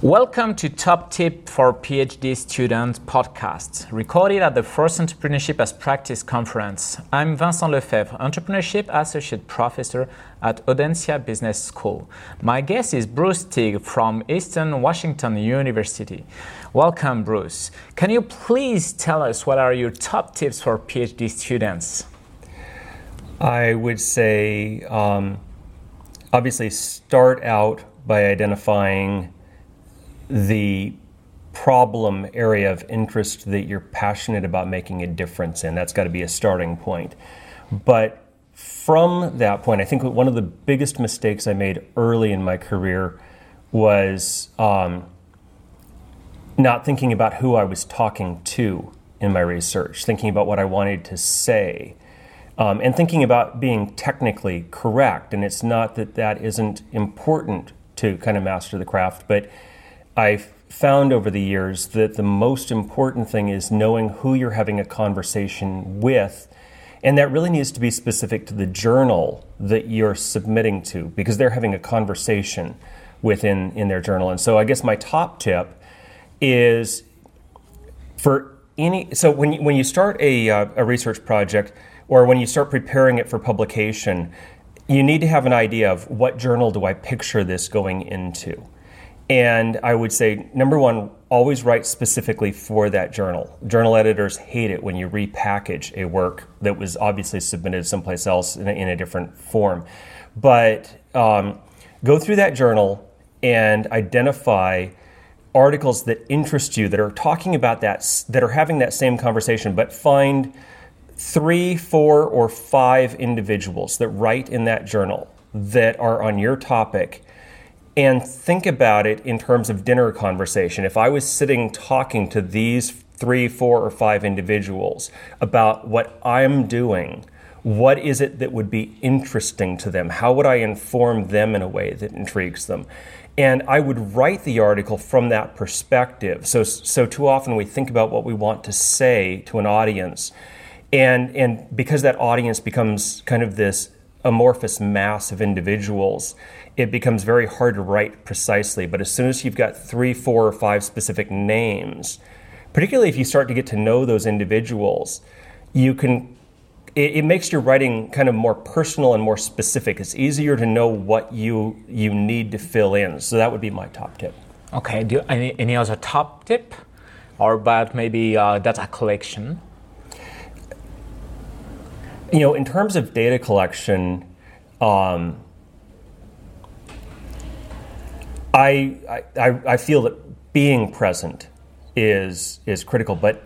Welcome to Top Tip for PhD Students podcast, recorded at the First Entrepreneurship as Practice conference. I'm Vincent Lefebvre, Entrepreneurship Associate Professor at Audencia Business School. My guest is Bruce Teague from Eastern Washington University. Welcome, Bruce. Can you please tell us what are your top tips for PhD students? I would say, obviously, start out by identifying the problem area of interest that you're passionate about making a difference in. That's got to be a starting point. But from that point, I think one of the biggest mistakes I made early in my career was not thinking about who I was talking to in my research, thinking about what I wanted to say, and thinking about being technically correct. And it's not that that isn't important to kind of master the craft, but I've found over the years that the most important thing is knowing who you're having a conversation with, and that really needs to be specific to the journal that you're submitting to, because they're having a conversation in their journal. And so I guess my top tip is when you start a research project, or when you start preparing it for publication, you need to have an idea of what journal do I picture this going into. And I would say, number one, always write specifically for that journal. Journal editors hate it when you repackage a work that was obviously submitted someplace else in a different form. But go through that journal and identify articles that interest you, that are talking about that are having that same conversation, but find 3, 4, or 5 individuals that write in that journal that are on your topic, and think about it in terms of dinner conversation. If I was sitting talking to these 3, 4, or 5 individuals about what I'm doing, what is it that would be interesting to them? How would I inform them in a way that intrigues them? And I would write the article from that perspective. So too often we think about what we want to say to an audience, and because that audience becomes kind of this amorphous mass of individuals, it becomes very hard to write precisely. But as soon as you've got 3, 4, or 5 specific names, particularly if you start to get to know those individuals, it makes your writing kind of more personal and more specific. It's easier to know what you need to fill in. So that would be my top tip. Okay, do you, any other top tip? Or about maybe data collection? In terms of data collection, I feel that being present is critical, but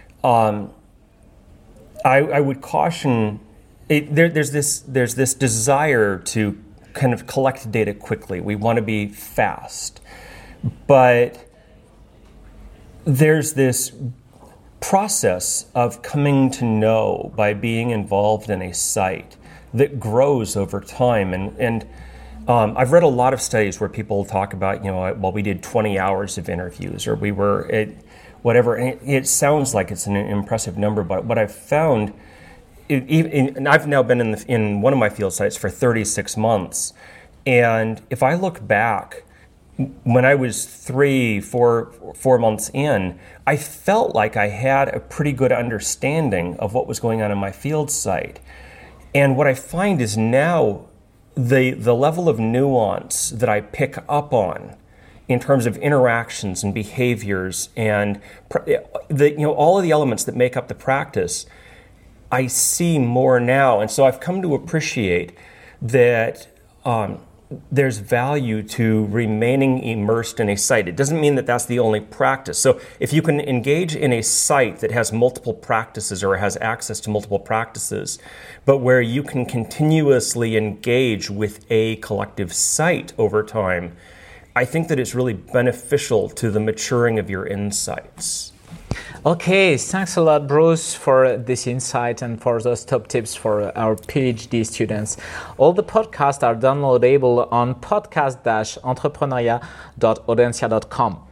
I would caution. There's this desire to kind of collect data quickly. We want to be fast, but there's this process of coming to know by being involved in a site that grows over time. And I've read a lot of studies where people talk about, we did 20 hours of interviews, or we were at whatever. And it sounds like it's an impressive number, but what I've found, and I've now been in one of my field sites for 36 months. And if I look back, when I was 3, 4 months in, I felt like I had a pretty good understanding of what was going on in my field site. And what I find is now the level of nuance that I pick up on in terms of interactions and behaviors and all of the elements that make up the practice, I see more now. And so I've come to appreciate that there's value to remaining immersed in a site. It doesn't mean that that's the only practice. So if you can engage in a site that has multiple practices or has access to multiple practices, but where you can continuously engage with a collective site over time, I think that it's really beneficial to the maturing of your insights. Okay, thanks a lot, Bruce, for this insight and for those top tips for our PhD students. All the podcasts are downloadable on podcast-entrepreneuriat.audencia.com.